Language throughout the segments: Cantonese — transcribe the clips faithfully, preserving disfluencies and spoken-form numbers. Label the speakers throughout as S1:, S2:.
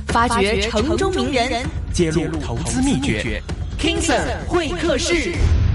S1: 發掘城中名人，
S2: 揭露投資秘訣。King Sir 會客室。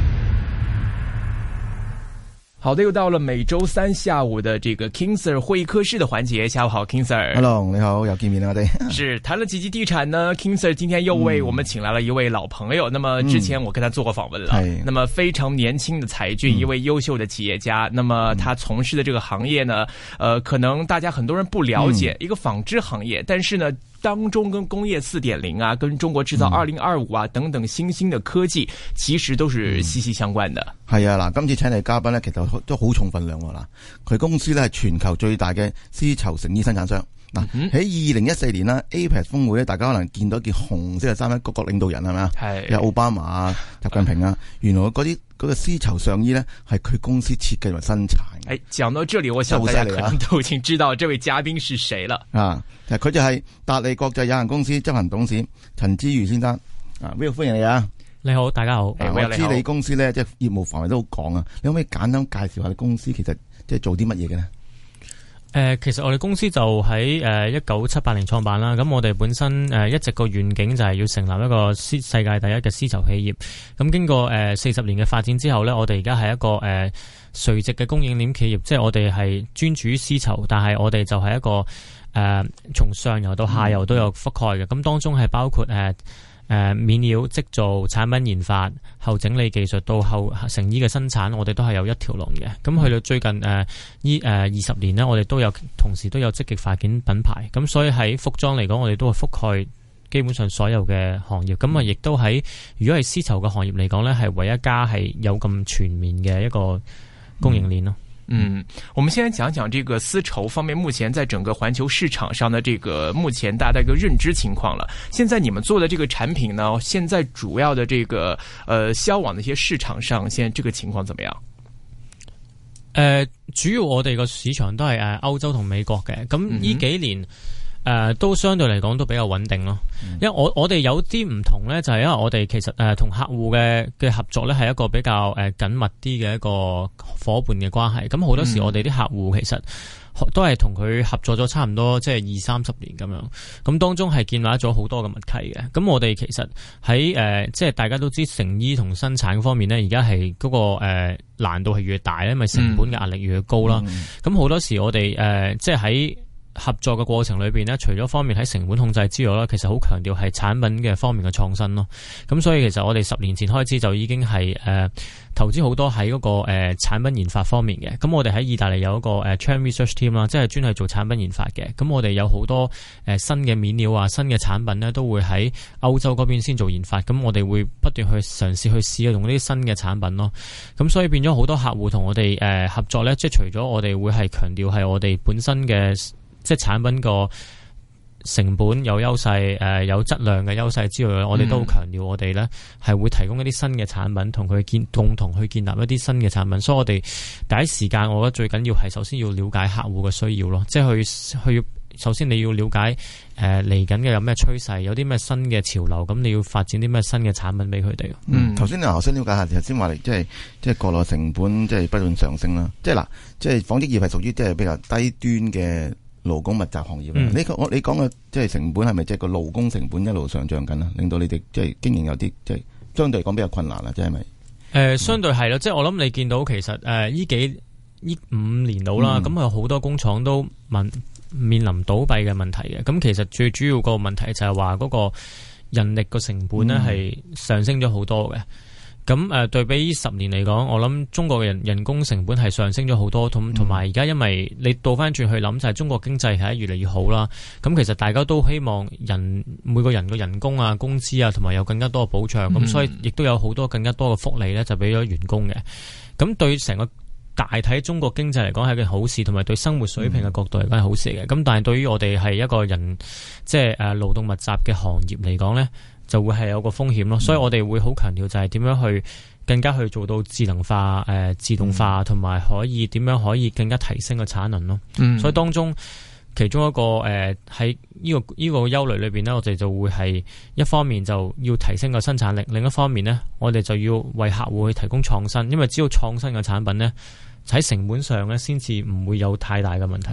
S2: 好的，又到了每周三下午的這個 King Sir 會客室的環節。下午好 King Sir。Hello，
S3: 你好，又見面啦，我哋
S2: 是談了幾集地產呢 King Sir 今天又為我們請來了一位老朋友、嗯、那麼之前我跟他做過訪問了、嗯、那麼非常年輕的才俊、嗯、一位優秀的企業家，那麼他從事的這個行業呢呃，可能大家很多人不了解、嗯、一個紡織行業，但是呢當中跟工業 四點零 啊，跟中國製造二零二五啊、嗯、等等新興的科技其實都是息息相關的。
S3: 係、嗯、啊，嗱，今次請嚟嘉賓呢，其實都好重分量喎。嗱，佢公司呢係全球最大嘅絲綢成衣生產商。嗱、嗯，喺二零一四年啦 A P E C 峰會咧，大家可能見到一件紅色嘅衫咧，各國領導人係咪啊？係有奧巴馬啊、習近平啊，原來嗰啲嗰個絲綢上衣咧係佢公司設計同生產。誒，講到這裡，我想大家可能都已經知道這位嘉賓是誰了啊！佢就係達利國際有限公司執行董事陳之瑜先生啊 ，Will 歡迎你啊！
S4: 你好，大家好。
S3: 啊、我知你公司咧即係業務範圍都好廣啊，你可唔可以簡單介紹下你公司其實即係做啲乜嘢嘅呢？
S4: 誒、呃，其實我哋公司就喺誒一九七八年創辦啦。咁我哋本身誒、呃、一直個願景就係要成立一個絲世界第一嘅絲綢企業。咁經過誒四十年嘅發展之後呢，我哋而家係一個誒、呃、垂直嘅供應鏈企業，即係我哋係專注於絲綢，但係我哋就係一個誒從、呃、上游到下游都有覆蓋嘅。咁當中係包括誒。呃誒、呃，面料製造、產品研發、後整理技術到後成衣嘅生產，我哋都係有一條龍嘅。咁去到最近誒，呢誒二十年呢，我哋都有同時都有積極發展品牌。咁所以喺服裝嚟講，我哋都係覆蓋基本上所有嘅行業。咁啊，亦都喺如果係絲綢嘅行業嚟講呢，係唯一家係有咁全面嘅一個供應鏈咯。
S2: 嗯，我們先來講講這個絲綢方面，目前在整個環球市場上的這個目前大家的一個認知情況了。現在你們做的這個產品呢，現在主要的這個呃銷往的一些市場上，現在這個情況怎麼樣？
S4: 呃，主要我哋個市場都係誒歐洲同美國嘅，咁呢幾年。嗯誒、呃，都相對嚟講都比較穩定咯，因為我我哋有啲唔同咧，就係、是、因為我哋其實誒同、呃、客戶嘅嘅合作咧係一個比較誒緊密啲嘅一個夥伴嘅關係。咁好多時我哋啲客戶其實都係同佢合作咗差唔多即係二三十年咁樣，咁當中係建立咗好多嘅默契嘅。咁我哋其實喺誒、呃、即係大家都知成衣同生產方面咧，而家係嗰個誒、呃、難度係越大咧，因為成本嘅壓力越高啦。咁、嗯、好多時我哋誒、呃、即係喺合作嘅過程裏邊呢，除咗方面喺成本控制之外呢，其實好強調係產品嘅方面嘅創新咯。咁所以其實我哋十年前開始就已經係誒、呃、投資好多喺嗰、那個誒、呃、產品研發方面嘅。咁我哋喺意大利有一個誒、呃、Trend Research Team 啦，即係專係做產品研發嘅。咁我哋有好多誒、呃、新嘅面料啊、新嘅產品呢，都會喺歐洲嗰邊先做研發。咁我哋會不斷去嘗試去試用呢啲新嘅產品咯。咁所以變咗好多客戶同我哋誒、呃、合作呢，即係除咗我哋會係強調係我哋本身嘅。即係產品個成本有優勢，誒、呃、有質量嘅優勢之外，我哋都好強調我哋咧係會提供一啲新嘅產品，同佢建共同去建立一啲新嘅產品。所以我哋第一時間，我覺得最緊要係首先要了解客戶嘅需要咯，即係去去首先你要了解誒嚟緊嘅有咩趨勢，有啲咩新嘅潮流，咁你要發展啲咩新嘅產品俾佢哋。
S3: 嗯，頭先你我想了解下，頭先話你即係即係國內成本即係不斷上升啦，即係嗱，即係紡織業係屬於即係比較低端嘅勞工密集行業。嗯、你我你講嘅即係成本係咪即係個勞工成本一路上漲緊啊？令到你哋即係經營有啲即係相對嚟講比較困難啦，即係咪？誒、
S4: 呃，相對係咯，即係我諗你見到其實誒呢、呃、幾呢五年到啦，咁啊好多工廠都問面臨倒閉嘅問題嘅。咁其實最主要個問題就係話嗰個人力個成本咧係上升咗好多嘅。咁誒、呃、對比十年嚟講，我諗中國嘅人人工成本係上升咗好多，同同埋而家因為你倒翻轉去諗，就係中國經濟係越嚟越好啦。咁其實大家都希望人每個人嘅人工啊、工資啊，同埋有更加多嘅保障。咁、嗯、所以亦都有好多更加多嘅福利咧，就俾咗員工嘅。咁對成個大體中國經濟嚟講係一件好事，同埋對生活水平嘅角度嚟講係好事嘅。咁、嗯、但係對於我哋係一個人即係誒勞動密集嘅行業嚟講咧，就會係有個風險咯，所以我哋會好強調就係點樣去更加去做到智能化、誒、呃、自動化，同埋可以點樣可以更加提升個產能咯。嗯，所以當中其中一個誒喺呢個呢、這個憂慮裏邊呢，我哋就會係一方面就要提升個生產力，另一方面呢，我哋就要為客戶去提供創新，因為只要創新嘅產品呢，喺成本上呢，先至唔會有太大嘅問題。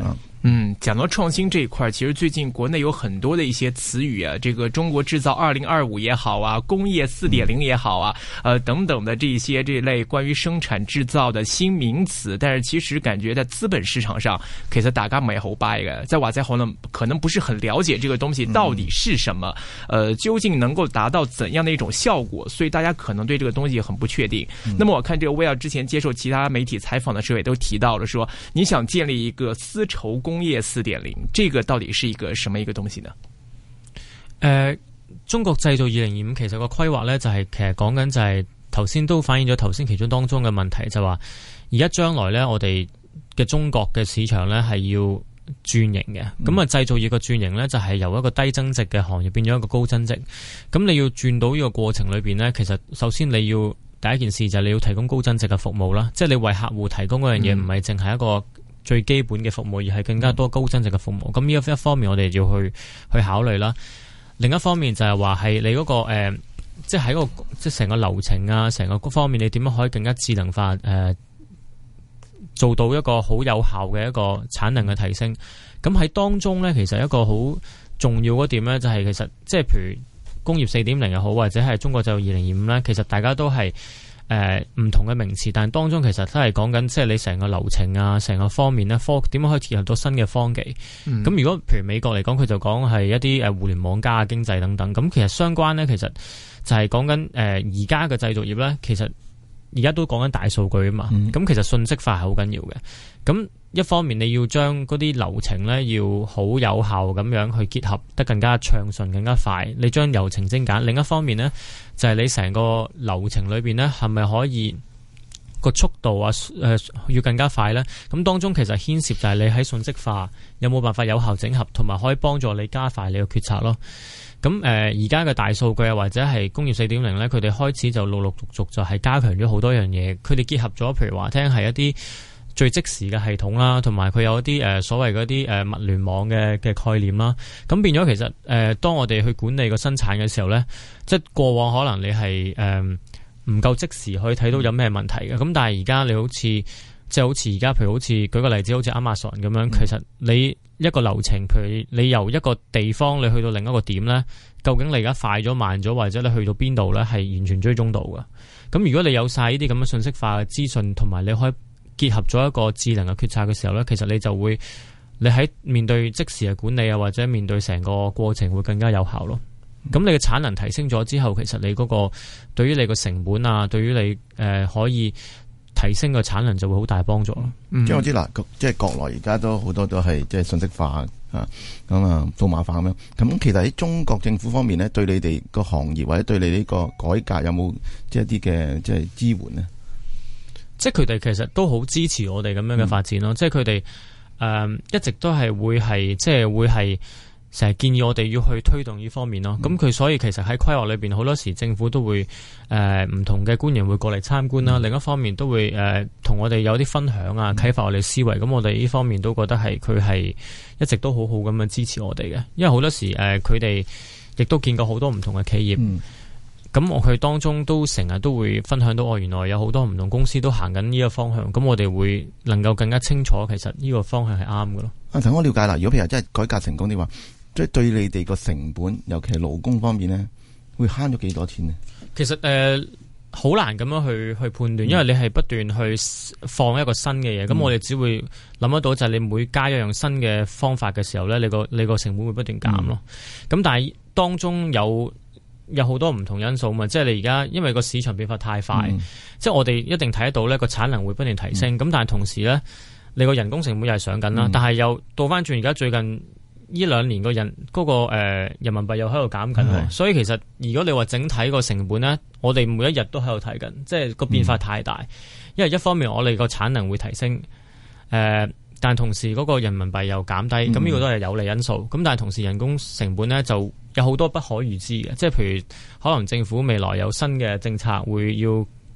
S2: 嗯，講到創新這一塊，其實最近國內有很多的一些詞語啊，這個中國製造二零二五也好啊，工業四點零也好啊，呃等等的這一些這一類關於生產製造的新名詞，但是其實感覺在資本市場上，其實大家唔係好 buy 嘅，即係或者可能可能不是很了解這個東西到底是什麼，呃究竟能夠達到怎樣的一種效果，所以大家可能對這個東西很不確定。嗯、那麼我看這個威爾之前接受其他媒體採訪的時候也都提到了說，你想建立一個絲綢工工業四點零，這個到底是一個什麼一個東西呢？
S4: 誒、呃，中國製造二零二五其實個規劃呢，就係、是、其實講緊就係頭先都反映咗頭先其中當中嘅問題，就話而家將來呢，我哋嘅中國嘅市場呢係要轉型嘅。咁啊、嗯，製造業嘅轉型呢，就係由一個低增值嘅行業變咗一個高增值。咁你要轉到呢個過程裏邊呢，其實首先你要第一件事就係你要提供高增值嘅服務啦，即係你為客戶提供嗰樣嘢唔係淨係一個最基本嘅服務，而係更加多高增值嘅服務。咁呢一一方面我哋要去去考慮啦。另一方面就係話係你嗰、那個誒、呃，即係喺個即係成個流程啊，成個方面你點樣可以更加智能化誒、呃，做到一個好有效嘅一個產能嘅提升。咁喺當中咧，其實一個好重要嗰點咧，就係其實即係譬如工業四點零又好，或者係中國就二零二五咧，其實大家都係。誒，唔、呃、同嘅名詞，但係當中其實都係講緊，即係你成個流程啊，成個方面咧，科點樣可以結合到新嘅科技。咁、嗯、如果譬如美國嚟講，佢就講係一啲誒互聯網加經濟等等。咁其實相關咧，其實就係講緊誒而家嘅製造業咧，其實而家都講緊大數據啊嘛。咁、嗯、其實信息化係好緊要嘅。咁一方面你要將嗰啲流程咧要好有效咁樣去結合得更加暢順、更加快。你將流程精簡。另一方面呢，就係、是、你成個流程裏邊呢，係咪可以個速度啊誒、呃、要更加快呢？咁當中其實牽涉就係你喺信息化有冇辦法有效整合，同埋可以幫助你加快你嘅決策咯。咁誒而家嘅大數據啊，或者係工業四點零呢，佢哋開始就陸陸續續就係加強咗好多樣嘢。佢哋結合咗，譬如話聽係一啲最即時嘅系統啦，同埋佢有一啲誒、呃、所謂嗰啲誒物聯網嘅嘅概念啦。咁變咗其實誒、呃，當我哋去管理個生產嘅時候咧，即係過往可能你係誒唔夠即時可以睇到有咩問題嘅。咁但係而家你好似即係好似而家，譬如好似舉個例子，好似 Amazon 咁樣，其實你一個流程，譬如你由一個地方你去到另一個點咧，究竟你而家快咗慢咗，或者你去到邊度咧，係完全追蹤到嘅。咁如果你有晒呢啲咁嘅信息化嘅資訊，同埋你可以結合咗一個智能嘅決策嘅時候呢，其實你就會你喺面對即時嘅管理啊，或者面對成個過程會更加有效咯。咁、嗯、你嘅產能提升咗之後，其實你嗰個對於你個成本啊，對於你誒、呃、可以提升個產能就會好大幫助咯。
S3: 嗯、即係我知嗱，即係國內而家都好多都係即係信息化啊，咁啊數碼化咁樣。咁其實喺中國政府方面呢，對你哋個行業或者對你呢個改革有冇即係一啲嘅即係支援呢？
S4: 即係佢哋其實都好支持我哋咁樣嘅發展咯，嗯、即係佢哋誒一直都係會係即係會係成日建議我哋要去推動呢方面咯。咁佢、嗯、所以其實喺規劃裏邊好多時政府都會誒唔、呃、同嘅官員會過嚟參觀啦。嗯、另一方面都會誒同、呃、我哋有啲分享啊，啟發我哋思維。咁、嗯、我哋呢方面都覺得係佢係一直都好好咁樣支持我哋嘅。因為好多時誒佢哋亦都見過好多唔同嘅企業。嗯咁我佢當中都成日都會分享到，哦，原來有好多唔同公司都行緊呢個方向，咁我哋會能夠更加清楚，其實呢個方向係啱嘅咯。啊，
S3: 等我了解啦。如果譬如真係改革成功啲話，即係對你哋個成本，尤其係勞工方面咧，會慳咗幾多錢呢？
S4: 其實誒，好、呃、難咁樣去去判斷，因為你係不斷去放一個新嘅嘢，咁、嗯、我哋只會諗得到就係你每加一樣新嘅方法嘅時候咧，你個你個成本會不斷減咯。咁、嗯、但係當中有。有好多唔同因素嘛，即係你而家因為個市場變化太快，嗯、即係我哋一定睇得到呢個產能會不斷提升，咁、嗯、但係同時呢，你個人工成本又係上緊啦，嗯、但係又倒翻轉而家最近呢兩年個人嗰、嗰個誒、呃、人民幣又喺度減緊，嗯、所以其實如果你話整體個成本呢，我哋每一日都喺度睇緊，即係個變化太大，嗯、因為一方面我哋個產能會提升，誒、呃。但同時嗰個人民幣又減低，咁呢、嗯、個都係有利因素。咁但係同時人工成本呢，就有好多不可預知嘅，即係譬如可能政府未來有新嘅政策會要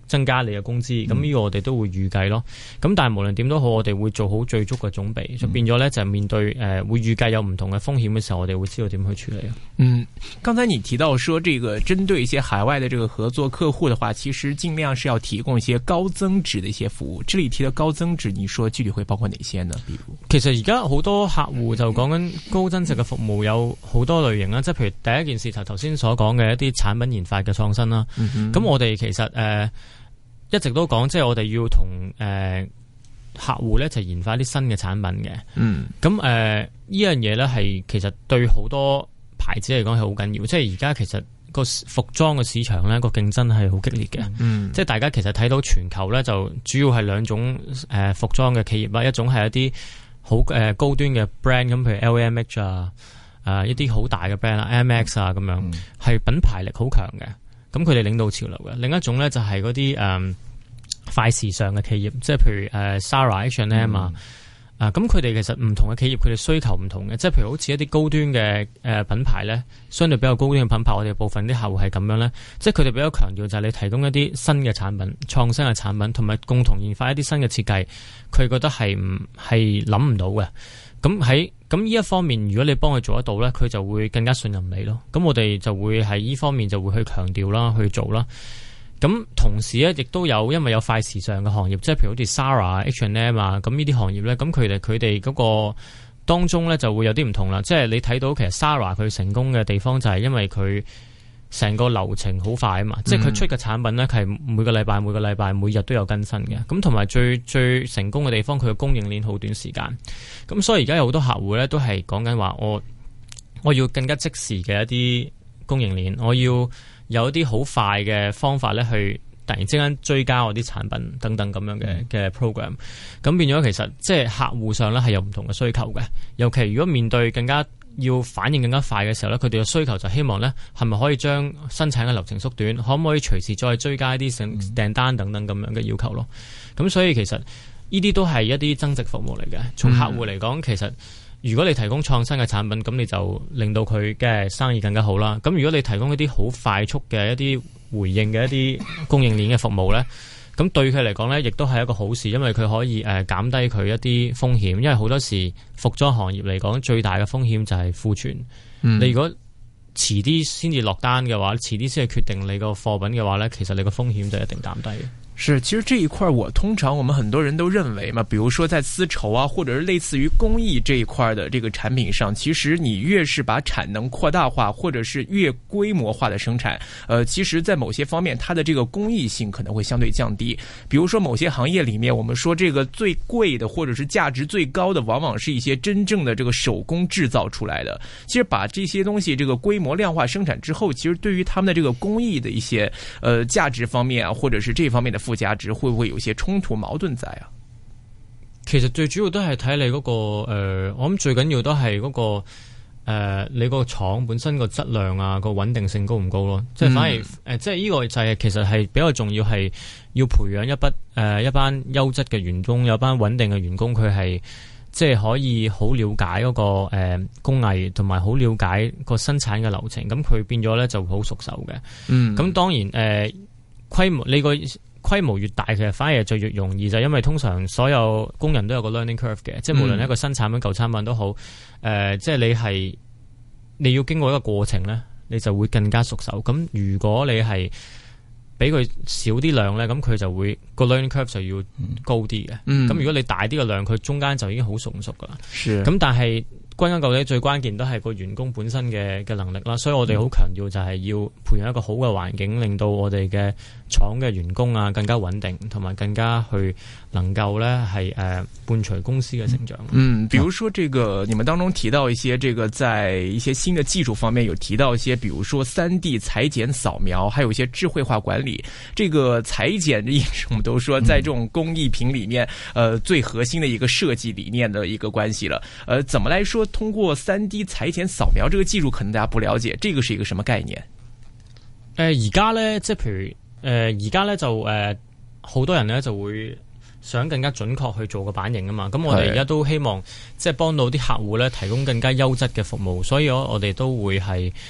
S4: 增加你嘅工資，咁呢個我哋都會預計咯。咁但係無論點都好，我哋會做好最足嘅準備，就變咗咧就係面對誒、呃、會預計有唔同嘅風險嘅時候，我哋會知道點去處理啊。
S2: 嗯，剛才你提到說，這個針對一些海外的這個合作客戶的話，其實盡量是要提供一些高增值的一些服務。這裡提到高增值，你說具體會包括哪些呢？比如，其
S4: 實而家好多客戶就講緊高增值嘅服務有好多類型啦，即係譬如第一件事頭頭先所講嘅一啲產品研發嘅創新啦。咁、嗯、我哋其實誒。呃一直都講，即係我哋要同誒、呃、客戶咧，就研發啲新嘅產品嘅。嗯，咁誒呢樣嘢咧，係其實對好多牌子嚟講係好緊要。即係而家其實個服裝嘅市場咧，個競爭係好激烈嘅。嗯，即係大家其實睇到全球咧，就主要係兩種誒、呃、服裝嘅企業啦，一種係一啲好誒高端嘅 brand， 咁譬如 L V M H 啊，誒、呃、一啲好大嘅 brand 啊 M X 啊咁樣，係、嗯、品牌力好強嘅。咁佢哋領導潮流嘅。另一種咧就係嗰啲誒快時尚嘅企業，即係譬如誒、呃、Zara H and M 啊，啊咁佢哋其實唔同嘅企業，佢哋需求唔同嘅，即係譬如好似一啲高端嘅誒、呃、品牌咧，相對比較高端嘅品牌，我哋部分啲客戶係咁樣咧，即係佢哋比較強調就係你提供一啲新嘅產品、創新嘅產品，同埋共同研發一啲新嘅設計，佢覺得係唔係諗唔到嘅。咁喺咁呢一方面，如果你幫佢做得到咧，佢就會更加信任你咯。咁我哋就會喺呢方面就會去強調啦，去做啦。咁同時咧，亦都有因為有快時尚嘅行業，即係譬如好似 Zara、H and M 啊，咁呢啲行業咧，咁佢哋佢哋嗰個當中咧就會有啲唔同啦。即係你睇到其實 Zara 佢成功嘅地方就係因為佢成個流程好快啊嘛，嗯、即係佢出嘅產品咧係每個禮拜、每個禮拜、每日都有更新嘅。咁同埋最最成功嘅地方，佢嘅供應鏈好短時間。咁所以而家有好多客戶咧都係講緊話，我我要更加即時嘅一啲供應鏈，我要有一啲好快嘅方法咧，去突然之間追加我啲產品等等咁樣嘅嘅 program。咁變咗其實即係客戶上咧係有唔同嘅需求嘅。尤其如果面對更加要反應更加快嘅時候咧，佢哋嘅需求就希望咧係咪可以將生產嘅流程縮短，可唔可以隨時再追加一啲訂訂單等等咁樣嘅要求咯。咁所以其實呢啲都係一啲增值服務嚟嘅。從客戶嚟講，其實如果你提供創新嘅產品，咁你就令到佢嘅生意更加好啦。咁如果你提供一啲好快速嘅一啲回應嘅一啲供應鏈嘅服務咧，咁對佢嚟講咧，亦都係一個好事，因為佢可以誒減低佢一啲風險。因為好多時服裝行業嚟講，最大嘅風險就係庫存。嗯、你如果遲啲先至落單嘅話，遲啲先去決定你個貨品嘅話咧，其實你個風險就一定減低嘅。
S2: 是，其實這一塊我通常我們很多人都認為嘛，比如說在絲綢啊，或者是類似於工藝這一塊的這個產品上，其實你越是把產能擴大化，或者是越規模化的生產，呃，其實在某些方面它的這個工藝性可能會相對降低。比如說某些行業裡面，我們說這個最貴的或者是價值最高的，往往是一些真正的這個手工製造出來的。其實把這些東西這個規模量化生產之後，其實對於他們的這個工藝的一些呃價值方面啊，或者是這方面的附加值會唔會有些衝突矛盾在啊？
S4: 其實最主要都係睇你嗰、那個誒、呃，我諗最緊要都係嗰、那個誒、呃，你個廠本身個質量啊，個穩定性高唔高咯？即係反而誒、嗯呃，即係呢個就係其實係比較重要，係要培養一筆誒、呃、一班優質嘅員工，有一班穩定嘅員工，佢係即係可以好了解嗰、那個誒、呃、工藝，同埋好了解個生產嘅流程，咁佢變咗咧就好熟手嘅。嗯，咁當然誒、呃、規模呢個。規模越大，其實反而就越容易，就因為通常所有工人都有個 learning curve 嘅，即係無論一個新產品、舊產品都好，誒、呃，即係你係你要經過一個過程咧，你就會更加熟手。咁如果你係俾佢少啲量咧，咁佢就會個 learning curve 就要高啲嘅。咁、嗯、如果你大啲嘅量，佢中間就已經好熟熟噶啦。咁但係歸根究底，最關鍵都係個員工本身嘅嘅能力啦，所以我哋好強調就係要培養一個好嘅環境，令到我哋嘅廠嘅員工啊更加穩定，同埋更加去能夠咧係誒伴隨公司嘅成長。
S2: 嗯，比如說這個你們當中提到一些這個在一些新的技術方面有提到一些，比如說三 D 裁剪掃描，還有一些智慧化管理。這個裁剪也是我們都說在這種工藝品裡面，呃最核心的一個設計理念的一個關係了。呃，怎麼來說？通過三 D 裁剪掃描這個技術，可能大家不了解，這個是一個什麼概念？
S4: 誒，而家咧，即係譬如誒，而家咧就誒，好、呃、多人咧就會想更加準確去做個版型啊嘛。咁我哋而家都希望即係幫到啲客戶咧，提供更加優質嘅服務，所以我我哋都會係誒、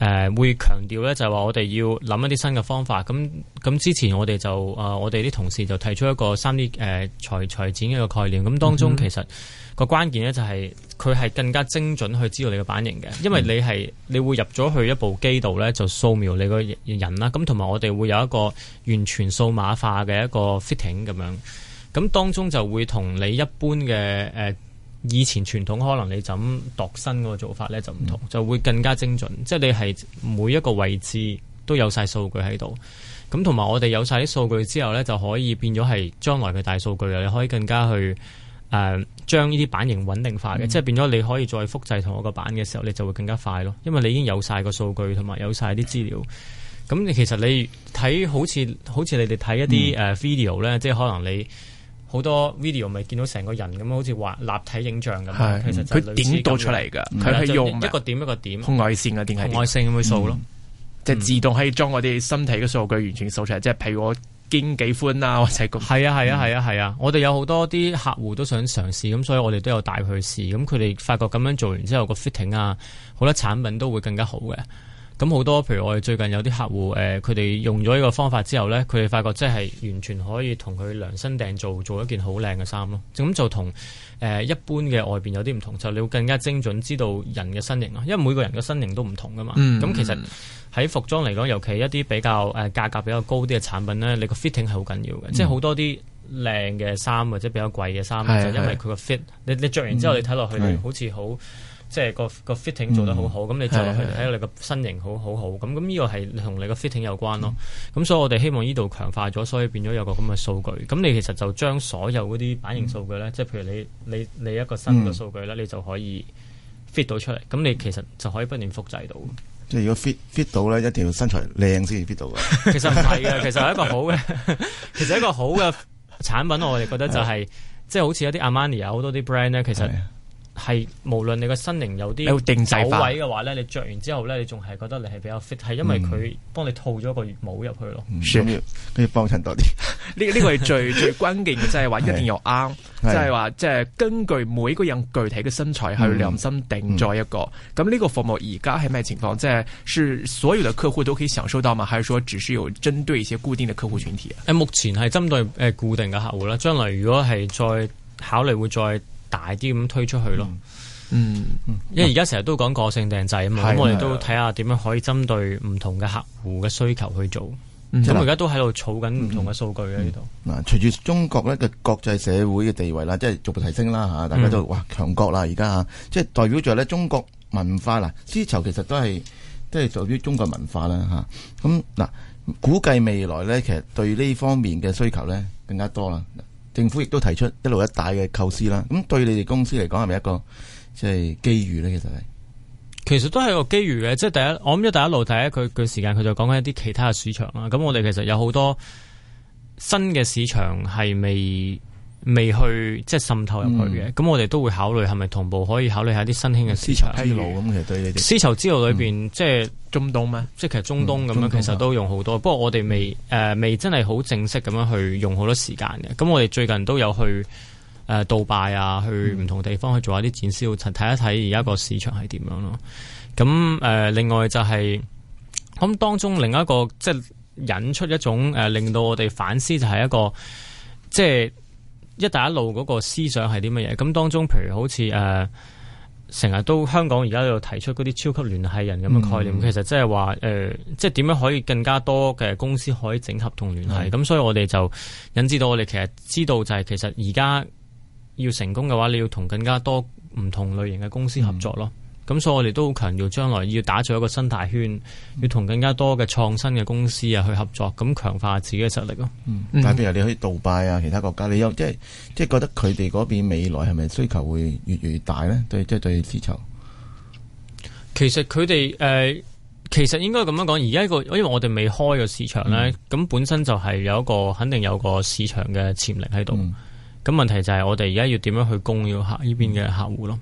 S4: 呃、會強調咧，就係話我哋要諗一啲新嘅方法。咁咁之前我哋就誒、呃、我哋啲同事就提出一個三 D 誒裁裁剪嘅一個概念。咁當中其實個關鍵咧就係佢係更加精準去知道你嘅版型嘅，因為你係你會入咗去一部機度咧就掃描你個人啦。咁同埋我哋會有一個完全數碼化嘅一個 fitting 咁樣。咁當中就會同你一般嘅誒、呃、以前傳統可能你就咁度身嗰個做法咧就唔同，嗯、就會更加精準。即係你係每一個位置都有晒數據喺度。咁同埋我哋有晒啲數據之後咧，就可以變咗係將來嘅大數據啊！你可以更加去誒將呢啲版型穩定化嘅，嗯、即係變咗你可以再複製同一個版嘅時候，你就會更加快咯。因為你已經有晒個數據同埋有晒啲資料。咁你其實你睇好似好似你哋睇一啲誒 video 咧，即係可能你。好多 video 咪見到成個人咁，好似話立體影像咁。其實佢點到出嚟㗎？佢係用一個點一個點紅外線嘅定係紅外線咁去掃咯，即係自動可以將我哋身體嘅數據完全掃出嚟。即係譬如我肩幾寬啊，或者咁。係啊係啊係啊係啊！我哋有好多啲客戶都想嘗試，咁所以我哋都有帶佢去試。咁佢哋發覺咁樣做完之後，個 fitting 啊，好多產品都會更加好嘅。咁好多，譬如我哋最近有啲客戶，誒、呃，佢哋用咗呢個方法之後咧，佢哋發覺即係完全可以同佢量身訂做，做一件好靚嘅衫咯。咁就同誒、呃、一般嘅外邊有啲唔同，就你會更加精準知道人嘅身形咯。因為每個人嘅身形都唔同噶嘛。咁、嗯、其實喺服裝嚟講，尤其一啲比較誒價格比較高啲嘅產品咧，你個 fitting 係好緊要嘅。嗯、即係好多啲靚嘅衫或者比較貴嘅衫，嗯、就因為佢個 fit，你你着完之後你睇落去，嗯、你好似好。即係個個 fitting 做得好好，咁、嗯、你着落去睇到你個身形好好好，咁咁呢個係同你個 fitting 有關咯。咁、嗯、所以我哋希望呢度強化咗，所以變咗有個咁嘅數據。咁你其實就將所有嗰啲版型數據咧，嗯、即係譬如你你你一個新嘅數據咧，嗯、你就可以 fit 到出嚟。咁你其實就可以不斷複製到。
S3: 即係如果 fit fit 到咧，一定要身材靚先至 fit 到嘅。其實唔係嘅，
S4: 其實係一個好嘅，其實一個好嘅產品，我哋覺得就係、是、即係好似有啲 Armani 啊，好多啲 brand 咧，其實。係無論你個身形有啲走位嘅話咧，你着完之後咧，你仲係覺得你係比較 fit，係因為佢幫你套咗個帽入去咯。
S3: 跟住跟住幫襯多啲。
S2: 呢呢個係最最關鍵嘅，即係話一定要啱，即係話即係根據每個人具體嘅身材去量身定做一個。咁呢、嗯、個服務而家係咩情況？即係是所有嘅客戶都可以享受到嗎？還是說只是有針對一些固定嘅客戶群體啊？誒，目前係針對誒固定嘅客戶啦。將來如果係再考慮會再。大啲咁推出去咯，嗯，嗯因為而家成日都講個性訂製啊嘛，咁、嗯、我哋都睇下點樣可以針對唔同嘅客戶嘅需求去做。咁而家都喺度儲緊唔同嘅數據喺呢度。嗱、嗯，隨、嗯、住中國咧嘅國際社會嘅地位啦，即係逐步提升啦吓，大家都、嗯、哇強國啦，而家吓，即係代表住咧中國文化啦，絲綢其實都係都係屬於中國文化啦吓。咁嗱，估計未來咧，其實對呢方面嘅需求咧更加多啦。政府亦都提出一路一帶嘅構思啦，咁對你哋公司嚟講係咪一個即係機遇咧？其實係，其實都係一個機遇嘅，即係第一，我諗一帶一路第一佢佢時間佢就講緊一啲其他嘅市場啦。咁我哋其實有好多新嘅市場係未未去即係滲透入去嘅，咁、嗯、我哋都會考慮係咪同步可以考慮下啲新興嘅市場。絲綢之路咁其實對你哋絲綢之路裏邊、嗯、即係中東咩？即係其實中東咁樣、嗯、其實都用好多，不過我哋未誒、呃、未真係好正式咁樣去用好多時間嘅。咁我哋最近都有去誒、呃、杜拜啊，去唔同地方去做一啲展銷，睇一睇而家個市場係點樣咯。咁誒、呃、另外就係、是、咁當中另一個即係引出一種誒、呃、令到我哋反思就係一個即係。一帶一路嗰個思想係啲乜嘢？咁當中，譬如好似誒，成、呃、日都香港而家喺度提出嗰啲超級聯繫人咁嘅概念，嗯、其實即係話誒，即係點樣可以更加多嘅公司可以整合同聯繫？咁、嗯、所以我哋就引致到我哋其實知道就係其實而家要成功嘅話，你要同更加多唔同類型嘅公司合作咯。咁、嗯、所以我哋都好強調將來要打造一個生態圈，嗯、要同更加多嘅創新嘅公司啊去合作，咁強化自己嘅實力咯。嗯，但係譬如你去杜拜啊，其他國家，你有即係即係覺得佢哋嗰邊未來係咪需求會越嚟越大咧？對，即係對絲綢。其實佢哋誒，其實應該咁樣講，而家一個因為我哋未開個市場咧，咁、嗯、本身就係有一個肯定有個市場嘅潛力喺度。咁、嗯、問題就係我哋而家要點樣去供呢個客呢邊嘅客戶咯？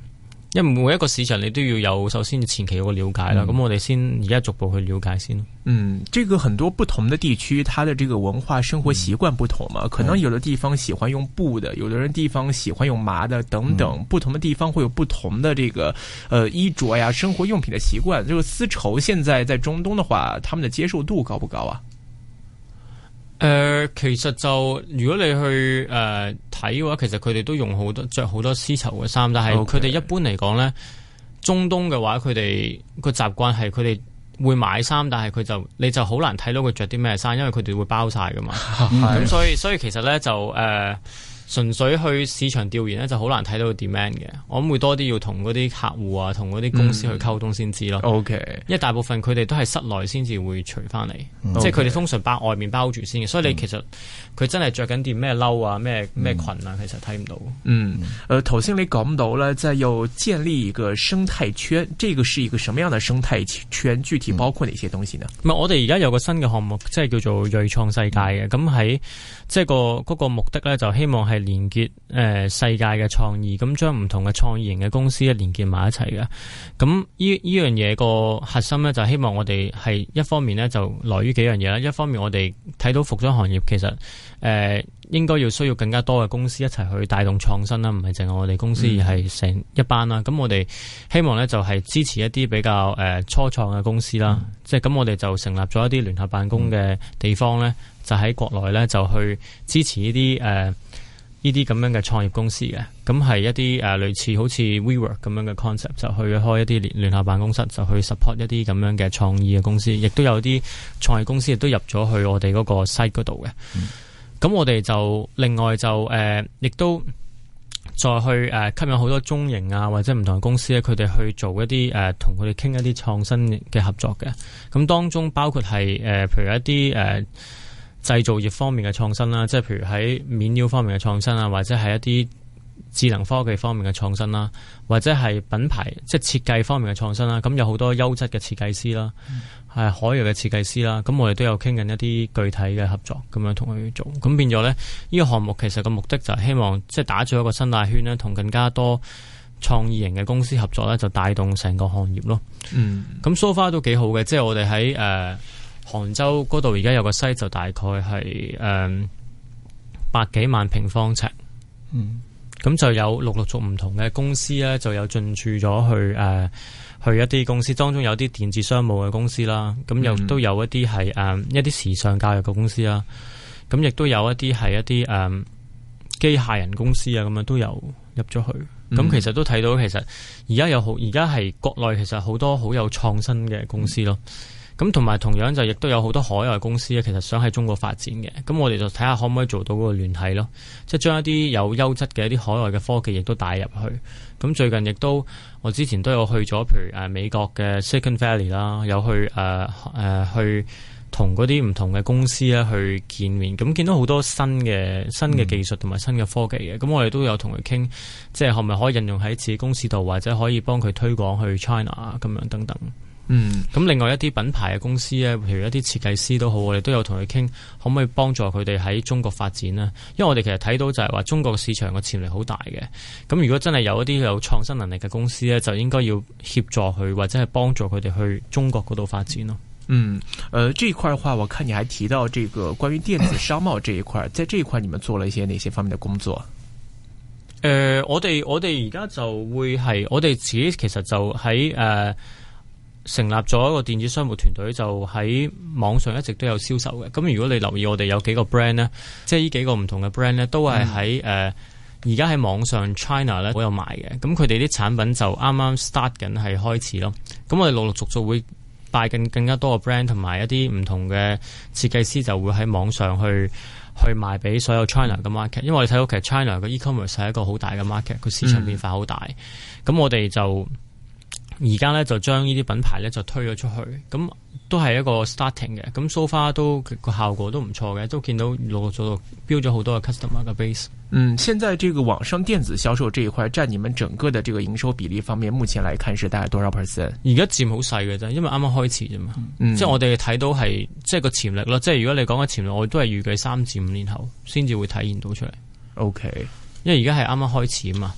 S4: 因為每一個市場你都要有首先前期有個了解啦，咁、嗯、我哋先而家逐步去了解先。
S2: 嗯，這個很多不同的地區，它的這個文化生活習慣不同嘛，嗯、可能有的地方喜歡用布的，有的人地方喜歡用麻的，等等，嗯、不同的地方會有不同的這個，呃，衣着呀、生活用品的習慣。這個絲綢現在在中東的話，他們的接受度高不高啊？
S4: 誒、呃，其實就如果你去誒睇嘅話，其實佢哋都用好多着好多絲綢嘅衫，但係佢哋一般嚟講咧，中東嘅話，佢哋個習慣係佢哋會買衫，但係佢就你就好難睇到佢着啲咩衫，因為佢哋會包晒噶嘛。咁、嗯、所以所以其實咧就誒。呃純粹去市場調研咧，就好難睇到個 demand 嘅。我諗會多啲要同嗰啲客戶啊，同嗰啲公司去溝通先知咯。O K，、嗯、因為大部分佢哋都係室內先至會除翻嚟，嗯、即係佢哋通常包外面包住先嘅。所以你其實佢真係着緊件咩褸啊，咩咩裙啊，其實睇唔到。嗯，
S2: 誒頭先你講到咧，即係要建立一個生態圈，這個是一個什麼樣的生態圈？具體包括哪些東西呢？
S4: 唔係、嗯，我哋而家有個新嘅項目，即係叫做銳創世界嘅。咁喺即係個嗰個目的咧，就希望係連結誒、呃、世界嘅創意，咁將唔同嘅創意型嘅公司咧連結埋一齊嘅。咁呢呢樣嘢個核心咧，就希望我哋係一方面咧就來於幾樣嘢啦。一方面我哋睇到服裝行業其實誒、呃、應該要需要更加多嘅公司一齊去帶動創新啦，唔係淨係我哋公司，而係成一班啦。咁、嗯、我哋希望咧就係支持一啲比較誒、呃、初創嘅公司啦，嗯、即係咁我哋就成立咗一啲聯合辦公嘅地方咧。嗯就喺國內咧，就去支持呢啲誒呢啲咁樣嘅創業公司嘅，咁係一啲誒、呃、類似好似 WeWork 咁樣嘅 concept， 就去開一啲聯聯合辦公室，就去 support 一啲咁樣嘅創意嘅公司，亦都有啲創業公司亦都入咗去我哋嗰個 site 嗰度嘅。咁、嗯、我哋就另外就誒，亦、呃、都再去誒、呃、吸引好多中型啊或者唔同嘅公司咧，佢哋去做一啲誒同佢哋傾一啲創新嘅合作嘅。咁當中包括係誒、呃，譬如一啲誒。呃製造業方面嘅創新啦，即係譬如喺面料方面嘅創新啊，或者係一啲智能科技方面嘅創新啦，或者係品牌即係設計方面嘅創新啦。咁有好多優質嘅設計師啦，係、嗯、海外嘅設計師啦。咁我哋都有傾緊一啲具體嘅合作，咁樣同佢做。咁變咗咧，呢、呢個項目其實個目的就係希望即係打造一個生態圈咧，同更加多創意型嘅公司合作咧，就帶動成個行業咯。嗯，咁 so far 都幾好嘅，即係我哋喺誒。呃杭州嗰度而家有個西就大概係誒、嗯、百幾萬平方尺，嗯，咁就有陸陸續唔同嘅公司咧，就有進駐咗去誒、呃、去一啲公司，當中有啲電子商務嘅公司啦，咁又都有一啲係誒一啲時尚教育嘅公司啦，咁亦都有一啲係一啲誒機械人公司啊，咁樣都有入咗去，咁、嗯、其實都睇到其實而家有好而家係國內其實好多好有創新嘅公司咯。嗯咁同埋同樣就亦都有好多海外公司咧，其實想喺中國發展嘅。咁我哋就睇下可唔可以做到嗰個聯繫咯，即係將一啲有優質嘅一啲海外嘅科技亦都帶入去。咁最近亦都我之前都有去咗，譬如誒美國嘅 Silicon Valley 啦，有去誒誒、呃、去同嗰啲唔同嘅公司咧去見面。咁見到好多新嘅新嘅技術同埋新嘅科技嘅。咁、嗯、我哋都有同佢傾，即係可唔可以應用喺自己公司度，或者可以幫佢推廣去 China 啊咁樣等等。嗯，咁另外一啲品牌嘅公司咧，譬如一啲設計師都好，我哋都有同佢傾，可唔可以幫助佢哋喺中國發展呢？因為我哋其實睇到就係話中國市場嘅潛力好大嘅。咁如果真係有一啲有創新能力嘅公司咧，就應該要協助佢或者係幫助佢哋去中國嗰度發展咯。
S2: 嗯，呃，這一塊嘅話，我看你還提到這個關於電子商貿這一塊，在這一塊你們做了一些哪些方面的工作？
S4: 誒、呃，我哋我哋而家就會係我哋自己其實就喺誒。呃成立咗一個電子商務團隊，就喺網上一直都有銷售嘅。咁如果你留意我哋有幾個 brand 呢，即係呢幾個唔同嘅 brand 呢，都係喺誒而家喺網上 China 咧都有賣嘅。咁佢哋啲產品就啱啱 start 緊係開始咯。咁我哋陸陸續續會帶緊更加多嘅 brand 同埋一啲唔同嘅設計師，就會喺網上去去賣俾所有 China 嘅 market。因為我哋睇到其實 China 嘅 e-commerce 係一個好大嘅 market，佢市場變化好大。咁、嗯、我哋就而家咧就將呢啲品牌咧就推咗出去，咁都係一個 starting 嘅，咁 so far 都個效果都唔錯嘅，都見到陸陸續續標咗好多嘅 customer 嘅 base。
S2: 嗯，現在這個網上電子銷售這一塊佔你們整個的這個營收比例方面，目前來看是大概多少 percent？
S4: 而家佔好細嘅啫，因為啱啱開始啫嘛。嗯、即係我哋睇到係即係個潛力咯，即係如果你講嘅潛力，我都係預計三至五年後先至會體現到出嚟。
S2: OK，
S4: 因為而家係啱啱開始啊嘛。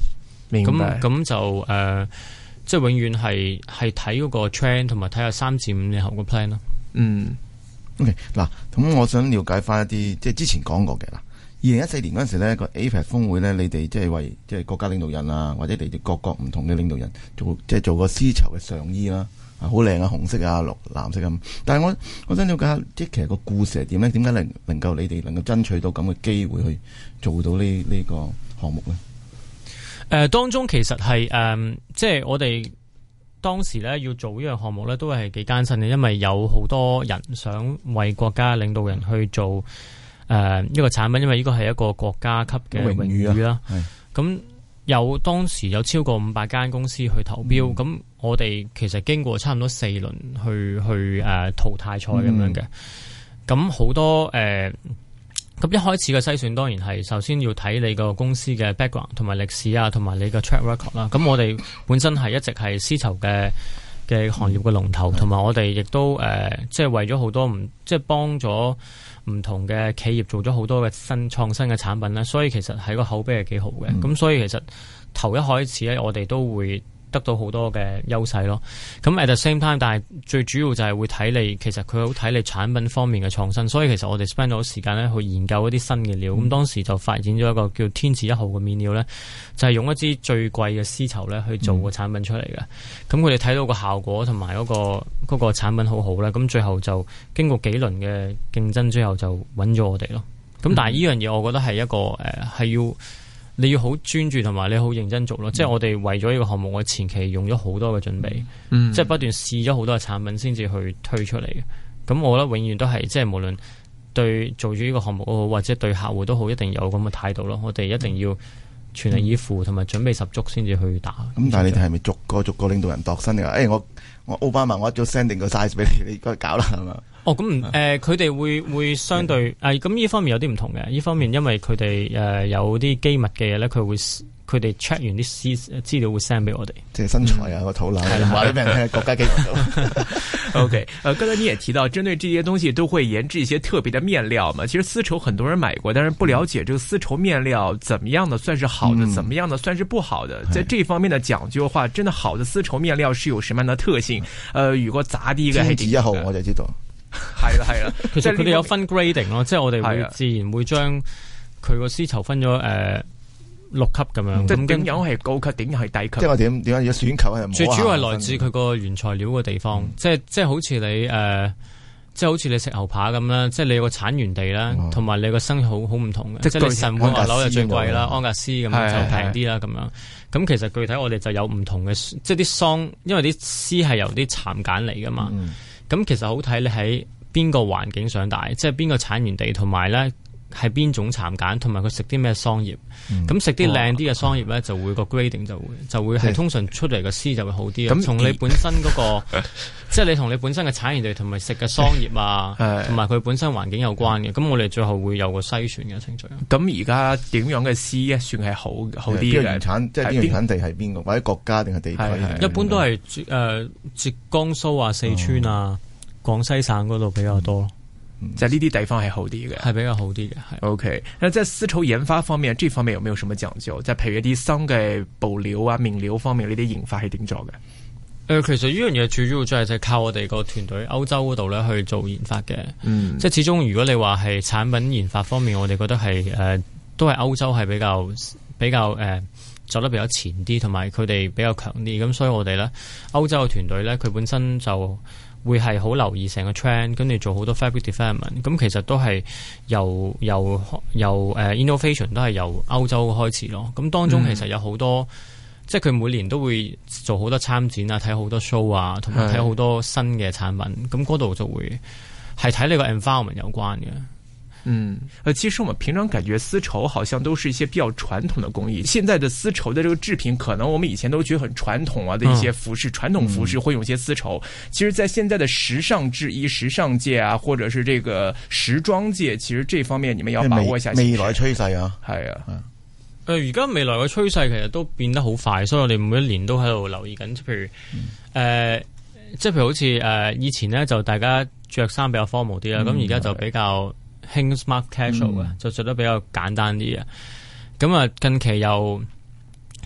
S4: 咁咁就誒、呃，即係永遠係係睇嗰個 trend 同埋睇下三至五年後個 plan 咯。
S2: 嗯。
S3: OK， 嗱，咁我想了解翻一啲，即係之前講過嘅啦。二零一四年嗰陣時咧，個 A P E C 峰會咧，你哋即係為即係國家領導人啊，或者你哋各國唔同嘅領導人做，即係做個絲綢嘅上衣啦，啊，好靚啊，紅色啊，綠藍色咁。但係我我想了解下，即係其實個故事係點咧？點解能能夠你哋能夠爭取到咁嘅機會去做到呢呢個項目咧？誒、
S4: 呃，當中其實係誒、呃，即係我哋當時咧要做呢樣項目咧，都係幾艱辛嘅，因為有好多人想為國家領導人去做。誒、呃，呢個產品，因為呢個係一個國家級嘅榮譽啦。咁有當時有超過五百間公司去投標，咁、嗯、我哋其實經過差唔多四輪去去誒、呃、淘汰賽咁樣嘅。咁好、嗯、多誒，咁、呃、一開始嘅篩選當然係首先要睇你個公司嘅 background 同埋歷史啊，同埋你嘅 track record 啦。咁我哋本身係一直係絲綢嘅嘅行業嘅龍頭，同埋、嗯、我哋亦都誒、呃，即係為咗好多唔即係幫咗。唔同嘅企業做咗好多嘅新創新嘅產品咧，所以其實係個口碑係幾好嘅。咁、嗯、所以其實頭一開始咧，我哋都會得到好多嘅優勢咯。咁 at the same time，但係最主要就係會睇你，其實佢好睇你產品方面嘅創新。所以其實我哋 spend 咗時間咧去研究一啲新嘅料。咁、嗯、當時就發展咗一個叫天字一號嘅面料咧，就係、是、用一支最貴嘅絲綢咧去做個產品出嚟嘅。咁佢哋睇到個效果同埋嗰個嗰、那個產品好好咧，咁最後就經過幾輪嘅競爭之後就揾咗我哋咯。咁、嗯、但係呢樣嘢我覺得係一個誒係、呃、要。你要好專注同埋你好認真做咯，嗯、即係我哋為咗呢個項目，我前期用咗好多嘅準備，嗯、即係不斷試咗好多嘅產品先至去推出嚟嘅。咁我覺得永遠都係即係無論對做住呢個項目好，或者對客戶都好，一定有咁嘅態度咯。我哋一定要全力以赴同埋準備十足先至去打。咁、嗯、
S3: 但係你哋係咪逐個逐個領導人度身嘅？誒、哎，我我奧巴馬我一早 send 定個 size 俾你，你該搞啦係嘛？
S4: 哦，咁誒，佢、呃、哋會會相對誒，咁呢、嗯呃、方面有啲唔同嘅。呢方面因為佢哋誒有啲機密嘅嘢咧，佢會佢哋 check 完啲資資料會 send 俾我哋，
S3: 即係身材啊個肚腩，話俾人聽國家機密。
S2: OK，呃，剛才你也提到，針對這些東西都會研製一些特別的面料嘛。其實絲綢很多人買過，但是不了解這個絲綢面料怎麼樣的算是好的，嗯、怎麼樣的算是不好的。在這方面的講究的話，真的好的絲綢面料是有什麼樣的特性？呃，如果渣啲嘅，天字一號我就知道。
S4: 係啦係啦，其實佢哋有分 grading 咯，即係我哋會自然會將佢個絲綢分咗誒六級咁樣。
S2: 即係點樣係高級，點樣係低級？
S3: 即係我點點解要選購係？
S4: 最主要係來自佢個原材料嘅地方，嗯、即係即係好似你誒、呃，即係好似你食牛扒咁啦，即係你有個產源地啦，同埋、哦、你個生意好好唔同嘅。即係你神戶牛柳就最貴啦，安格斯咁樣就平啲啦咁樣。咁其實具體我哋就有唔同嘅，即係啲桑，因為啲絲係由啲蠶繭嚟噶嘛。嗯咁其實好睇你喺邊個環境長大，即係邊個產源地，同埋咧係邊種蠶繭，同埋佢食啲咩桑葉。咁食啲靚啲嘅桑葉咧，就會個 grading 就會就會係通常出嚟嘅絲就會好啲。咁從你本身嗰個，即係你同你本身嘅產源地同埋食嘅桑葉啊，同埋佢本身環境有關嘅。咁我哋最後會有個篩選嘅程序。
S2: 咁而家點樣嘅絲算係好好啲嘅？
S3: 原產即係邊個產地係邊個，或者國家定係地區？
S4: 一般都係誒浙江蘇啊、四川啊、廣西省嗰度比較多。
S2: 在呢啲地方係好啲嘅，
S4: 係比較好啲嘅。係
S2: OK。那在絲綢研發方面，這方面有沒有什麼講究？即係譬如一啲新嘅布料啊、面料方面呢啲研發係點做嘅？誒、
S4: 呃，其實呢樣嘢最主要就係就係靠我哋個團隊歐洲嗰度咧去做研發嘅。嗯，即係始終如果你話係產品研發方面，我哋覺得係誒、呃、都係歐洲係比較比較誒、呃、走得比較前啲，同埋佢哋比較強啲。咁所以我哋咧歐洲嘅團隊咧，佢本身就會係好留意成個 trend， 跟住做好多 fabric development。咁其實都係由由由誒、uh, innovation 都係由歐洲開始咯。咁當中其實有好多，嗯、即係佢每年都會做好多參展啊，睇好多 show 啊，同埋睇好多新嘅產品。咁嗰度就會係睇你個 environment 有關嘅。
S2: 嗯，呃，其實我們平常感覺絲綢好像都是一些比較傳統的工藝。現在的絲綢的這個製品，可能我們以前都覺得很傳統啊的一些服飾，嗯、傳統服飾會用一些絲綢。其實，在現在的時尚製衣、時尚界啊，或者是這個時裝界，其實這方面你們要把握一下
S3: 未來趨勢啊。
S2: 係啊，
S4: 誒、呃，而家未來嘅趨勢其實都變得好快，所以我哋每一年都喺度留意緊。譬如，誒、嗯呃，即係譬如好似誒、呃，以前咧就大家着衫比較 formal 啲啦，咁而家就比較興 smart casual 嘅，嗯、就着得比較簡單啲嘅。咁啊，近期又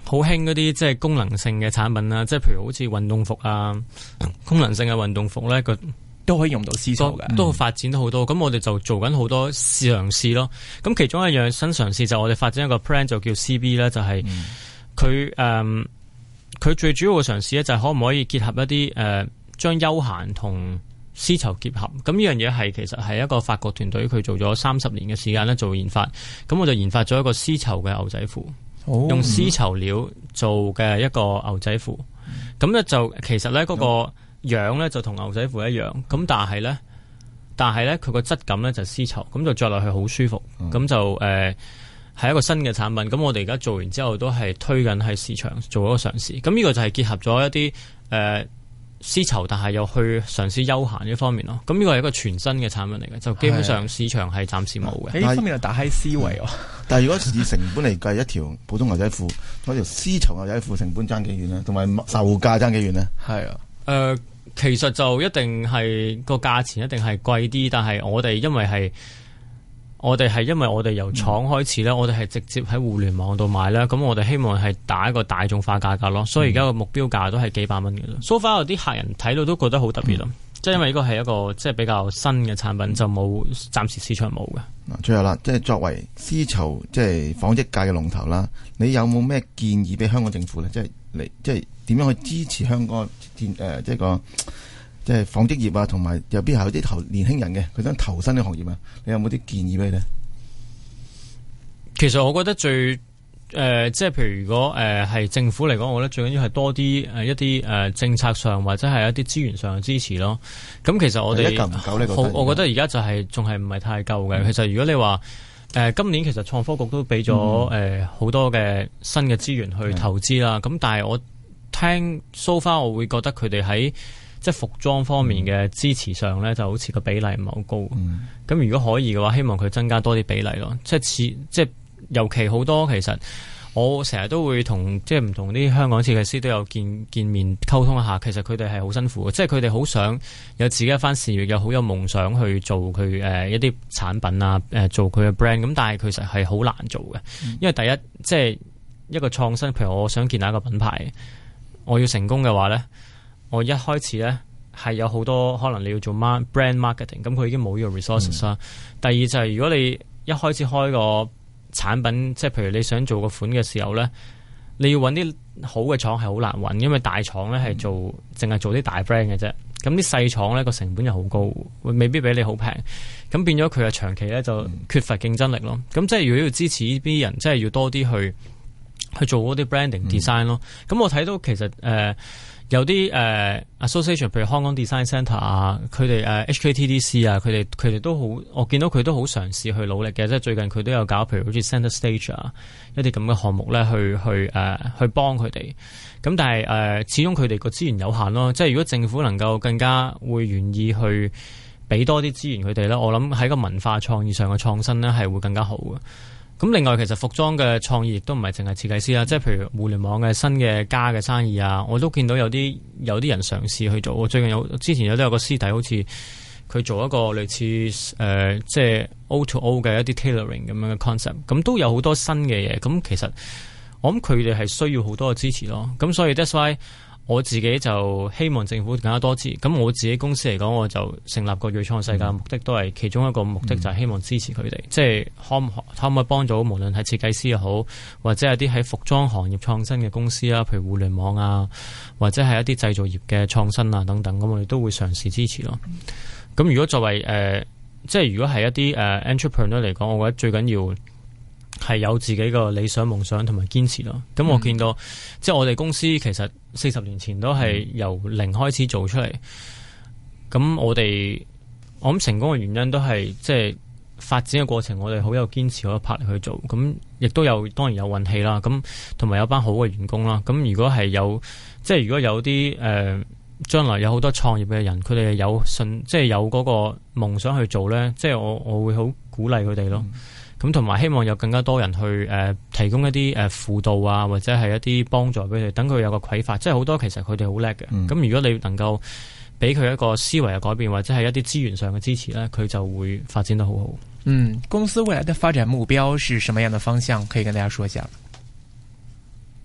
S4: 好興嗰啲即係功能性嘅產品啦，即係譬如好似運動服啊，功能性嘅運動服咧，個
S2: 都可以用到絲綢嘅，
S4: 都發展得好多。咁、嗯、我哋就做緊好多嘗試咯。咁其中一樣新嘗試就我哋發展一個 plan 就叫 C B 咧，就係佢誒佢最主要嘅嘗試咧就係可唔可以結合一啲誒將休閒同絲綢結合。咁呢樣嘢係其實係一個法國團隊佢做咗三十年嘅時間咧做研發。咁我就研發咗一個絲綢嘅牛仔褲。
S2: 哦、
S4: 用絲綢料做嘅一個牛仔褲，咁咧就其實咧嗰個樣咧就同牛仔褲一樣，咁但係咧，但係咧佢個質感咧就絲綢，咁就着落去好舒服，咁、嗯、就誒係、呃、一個新嘅產品。咁我哋而家做完之後都係推緊喺市場做一個嘗試。咁呢個就係結合咗一啲誒。呃絲綢，但係又去嘗試休閒呢方面咯。咁呢個係一個全新嘅產品嚟嘅，就基本上市場係暫時冇嘅。
S2: 呢方面就打開思維喎。
S3: 但係如果以成本嚟計，一條普通牛仔褲，嗰條絲綢牛仔褲成本爭幾遠呢？同埋售價爭幾遠呢？
S2: 係啊，誒、
S4: 呃，其實就一定係個價錢一定係貴啲，但係我哋因為係。我哋係因為我哋由廠開始咧、嗯，我哋係直接喺互聯網度賣咧，咁我哋希望係打一個大眾化價格咯，所以而家個目標價都係幾百蚊嘅咯。So far 有啲客人睇到都覺得好特別咯，即、嗯、係因為呢個係一個即係比較新嘅產品，就冇暫時市場冇嘅。
S3: 嗱，最後啦，即係作為絲綢即係紡織界嘅龍頭啦，你有冇咩建議俾香港政府咧？即係你即係點樣去支持香港誒、呃、即係個？即係紡織業啊，同埋有邊係有啲投年輕人嘅，佢想投身呢個行業啊？你有冇啲建議俾你呢？
S4: 其實我覺得最誒、呃，即係譬如如果誒係、呃、政府嚟講，我覺得最緊要係多啲誒一啲誒、呃、政策上或者係一啲資源上嘅支持咯。咁其實我哋
S3: 夠唔夠呢個？
S4: 好，我覺得而家就係仲係唔係太夠嘅、嗯。其實如果你話誒、呃、今年其實創科局都俾咗誒好多嘅新嘅資源去投資啦。咁、嗯、但係我聽 so far 我會覺得佢哋喺即係服裝方面嘅支持上咧，就好似個比例唔係好高。咁、嗯、如果可以嘅話，希望佢增加多啲比例咯。即係似即係尤其好多，其實我成日都會同即係唔同啲香港設計師都有見見面溝通一下。其實佢哋係好辛苦嘅，即係佢哋好想有自己一番事業，又好有夢想去做佢誒、呃、一啲產品啊，誒、呃、做佢嘅 brand。咁但係其實係好難做嘅、嗯，因為第一即係一個創新，譬如我想建立一個品牌，我要成功嘅話咧。我一開始咧係有好多可能你要做 brand marketing， 咁佢已經冇呢個 resources 啦、嗯。第二就係如果你一開始開個產品，即係譬如你想做個款嘅時候咧，你要揾啲好嘅廠係好難揾，因為大廠咧係做淨係、嗯、做啲大 brand 嘅啫。咁啲細廠咧個成本又好高，未必比你好平。咁變咗佢嘅長期咧就缺乏競爭力咯。咁、嗯、即係如果要支持呢啲人，即係要多啲去去做嗰啲 branding design 咯。咁、嗯、我睇到其實誒。呃有啲誒、uh, association， 譬如香港 Design Centre 啊，佢哋誒 H K T D C 啊，佢哋佢哋都好，我見到佢都好嘗試去努力嘅，即係最近佢都有搞，譬如好似 Center Stage 啊，一啲咁嘅項目咧，去去誒、uh, 去幫佢哋。咁但係誒、uh, 始終佢哋個資源有限咯，即係如果政府能夠更加會願意去俾多啲資源佢哋咧，我諗喺個文化創意上嘅創新咧係會更加好嘅。咁另外其實服裝嘅創意亦都唔係淨係設計師啦，即係譬如互聯網嘅新嘅家嘅生意啊，我都見到有啲有啲人嘗試去做。我最近有之前有都有個師弟好似佢做一個類似誒、呃、即係 O to O 嘅一啲 tailoring 咁樣嘅 concept， 咁都有好多新嘅嘢。咁其實我諗佢哋係需要好多嘅支持咯。咁所以 that's why 我自己就希望政府更加多支持。咁我自己公司嚟講，我就成立個銳創世界嘅目的都係其中一個目的，就係希望支持佢哋、嗯，即係可唔可可唔可以幫到無論係設計師又好，或者係啲喺服裝行業創新嘅公司啊，譬如互聯網啊，或者係一啲製造業嘅創新啊等等，咁我哋都會嘗試支持咯。咁如果作為誒、呃，即係如果係一啲誒、呃、entrepreneur 嚟講，我覺得最緊要係有自己個理想夢想同埋堅持咯。咁我見到、嗯、即係我哋公司其實四十年前都係由零開始做出嚟。咁我哋我諗成功嘅原因都係即係發展嘅過程，我哋好有堅持，好有魄力去做。咁亦都有當然有運氣啦。咁同埋有班好嘅員工啦。咁如果係有即係如果有啲誒將來有好多創業嘅人，佢哋有信即係有嗰個夢想去做咧，即係我我會好鼓勵佢哋咯。咁同埋希望有更加多人去誒、呃、提供一啲誒輔導啊，或者係一啲幫助俾佢哋，等佢有個啟發。即係好多其實佢哋好叻嘅。咁、嗯、如果你能夠俾佢一個思維嘅改變，或者係一啲資源上嘅支持咧，佢就會發展得好好。
S2: 嗯，公司未來的發展目標是什麼樣的方向？可以跟大家說一下。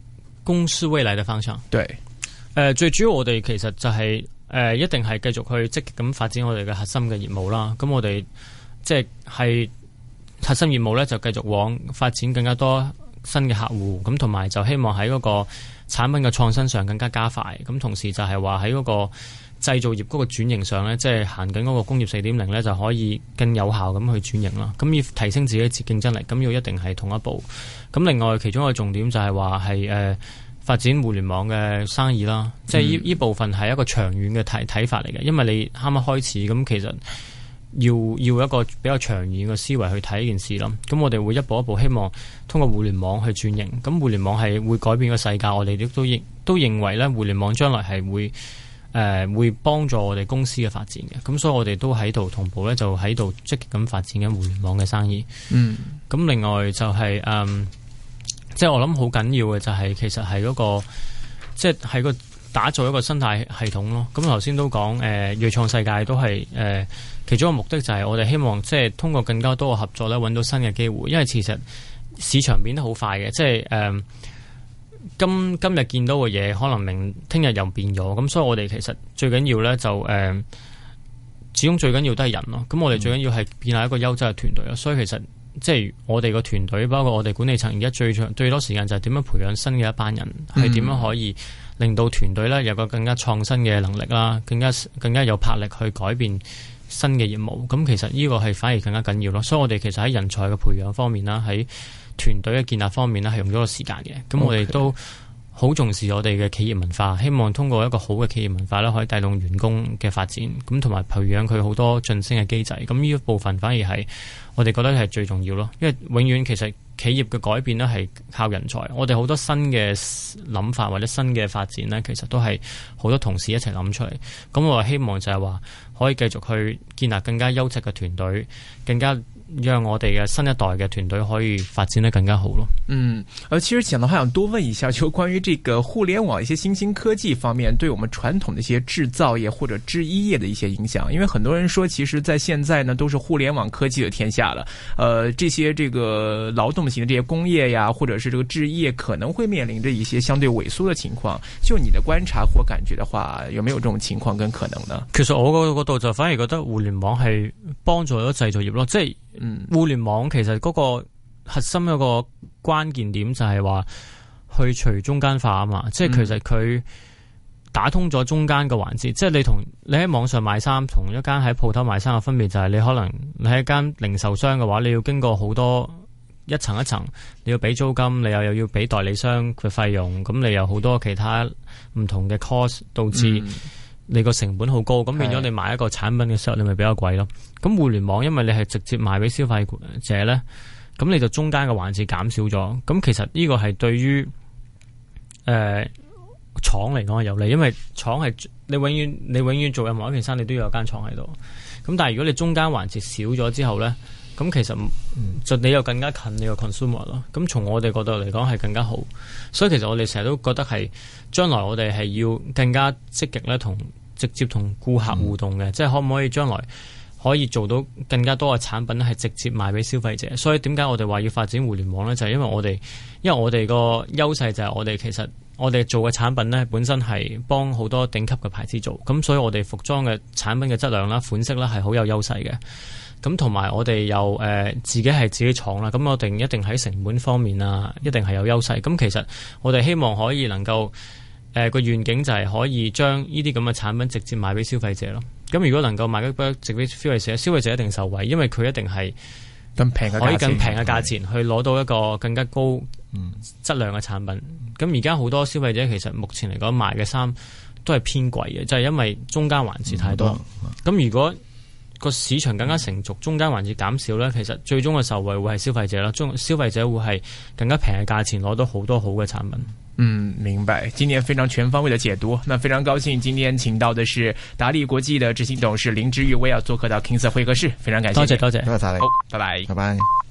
S4: 公司未來嘅方向。
S2: 對，
S4: 誒、呃，最主要我哋其實就係、是、誒、呃，一定係繼續去積極咁發展我哋嘅核心嘅業務啦。咁我哋即係係核心業務咧，就繼續往發展更加多新嘅客戶，咁同埋就希望喺嗰個產品嘅創新上更加加快。咁同時就係話喺嗰個製造業嗰個轉型上咧，即係行緊嗰個工業四點零咧，就可以更有效咁去轉型啦。咁要提升自己嘅競爭力，咁要一定係同一步。咁另外其中一個重點就係話係誒發展互聯網嘅生意啦。即係呢呢部分係一個長遠嘅睇睇法嚟嘅，因為你啱啱開始咁，其實要要一個比較長遠嘅思維去睇呢件事咯。咁我哋會一步一步希望通過互聯網去轉型。咁互聯網係會改變個世界，我哋亦都認都認為咧，互聯網將來係會。誒、呃，會幫助我哋公司嘅發展嘅，咁所以我哋都喺度同步咧，就喺度積極咁發展緊互聯網嘅生意。嗯，咁另外就係、是、誒、嗯，即係我諗好緊要嘅就係、是，其實係嗰、那個，即係喺個打造一個生態系統咯。咁頭先都講，誒、呃，銳創世界都係誒、呃，其中一個目的就係我哋希望即係通過更加多嘅合作咧，揾到新嘅機會。因為其實市場變得好快嘅，即係誒。呃今今日見到嘅嘢，可能明聽日又變咗，咁所以我哋其實最緊要咧就誒、呃，始終最緊要都係人咯。咁我哋最緊要係建立一個優質嘅團隊咯。所以其實即係我哋個團隊，包括我哋管理層，而家最長最多時間就係點樣培養新嘅一班人，係點、嗯、樣可以令到團隊咧有個更加創新嘅能力啦，更加更加有魄力去改變新嘅業務。咁其實呢個係反而更加緊要咯。所以我哋其實喺人才嘅培養方面啦，喺團隊嘅建立方面咧係用咗個時間嘅，咁我哋都好重視我哋嘅企業文化，希望通過一個好嘅企業文化咧，可以帶動員工嘅發展，咁同埋培養佢好多晉升嘅機制。咁呢一部分反而係我哋覺得係最重要咯，因為永遠其實企業嘅改變咧係靠人才，我哋好多新嘅諗法或者新嘅發展咧，其實都係好多同事一齊諗出嚟。咁我希望就係話可以繼續去建立更加優質嘅團隊，更加讓我哋嘅新一代嘅團隊可以發展得更加好咯。
S2: 嗯，呃，其實講到，還想多問一下，就關於這個互聯網一些新興科技方面，對我們傳統的一些製造業或者製衣業的一些影響。因為很多人說，其實在現在呢，都是互聯網科技的天下了。呃，這些這個勞動型的這些工業呀，或者是這個製衣業，可能會面臨着一些相對萎縮的情況。就你的觀察或感覺的話，有沒有這種情況跟可能呢？
S4: 其實我個角度就反而覺得互聯網係幫助咗製造業咯，即係。嗯，互聯網其實嗰個核心一個關鍵點就係話去除中間化啊嘛，即係其實佢打通咗中間嘅環節，嗯、即係你同你喺網上買衫，同一間喺鋪頭買衫嘅分別就係你可能你喺間零售商嘅話，你要經過好多一層一層，你要俾租金，你又又要俾代理商嘅費用，咁你有好多其他唔同嘅 cost 導致。嗯你個成本好高，咁變咗你買一個產品嘅時候，你咪比較貴咯。咁互聯網因為你係直接賣俾消費者咧，咁你就中間嘅環節減少咗。咁其實呢個係對於誒廠嚟講係有利，因為廠係你永遠你永遠做任何一件衫，你都要有間廠喺度。咁但係如果你中間環節少咗之後咧，咁其實就你又更加近你個 consumer 咯。咁從我哋角度嚟講係更加好。所以其實我哋成日都覺得係將來我哋係要更加積極咧同。直接同顧客互動嘅，嗯、即係可唔可以將來可以做到更加多嘅產品係直接賣俾消費者？所以點解我哋話要發展互聯網呢？就係、是、因為我哋，因為我哋個優勢就係我哋其實我哋做嘅產品呢，本身係幫好多頂級嘅牌子做，咁所以我哋服裝嘅產品嘅質量啦、款式啦係好有優勢嘅。咁同埋我哋又誒、呃、自己係自己廠啦，咁我哋一定喺成本方面啊，一定係有優勢。咁其實我哋希望可以能夠。誒，個願景就係可以將呢啲咁嘅產品直接賣俾消費者咯。咁如果能夠賣俾直接消費者，消費者一定受惠，因為佢一定係更平嘅，可以更平嘅價錢去攞到一個更加高質量嘅產品。咁而家好多消費者其實目前嚟講賣嘅衫都係偏貴嘅，就係因為中間環節太多。咁、嗯、如果個市場更加成熟，中間環節減少咧，其實最終嘅受惠會係消費者啦。中消費者會係更加平嘅價錢攞到好多好嘅產品。
S2: 嗯，明白。今天非常全方位的解讀，那非常高興今天請到的是達利國際的執行董事林芝玉薇要做客到 King Sir 會客室，非常感謝。
S4: 多謝多謝，
S3: 多謝晒你。
S2: 好，拜拜，
S3: 拜拜。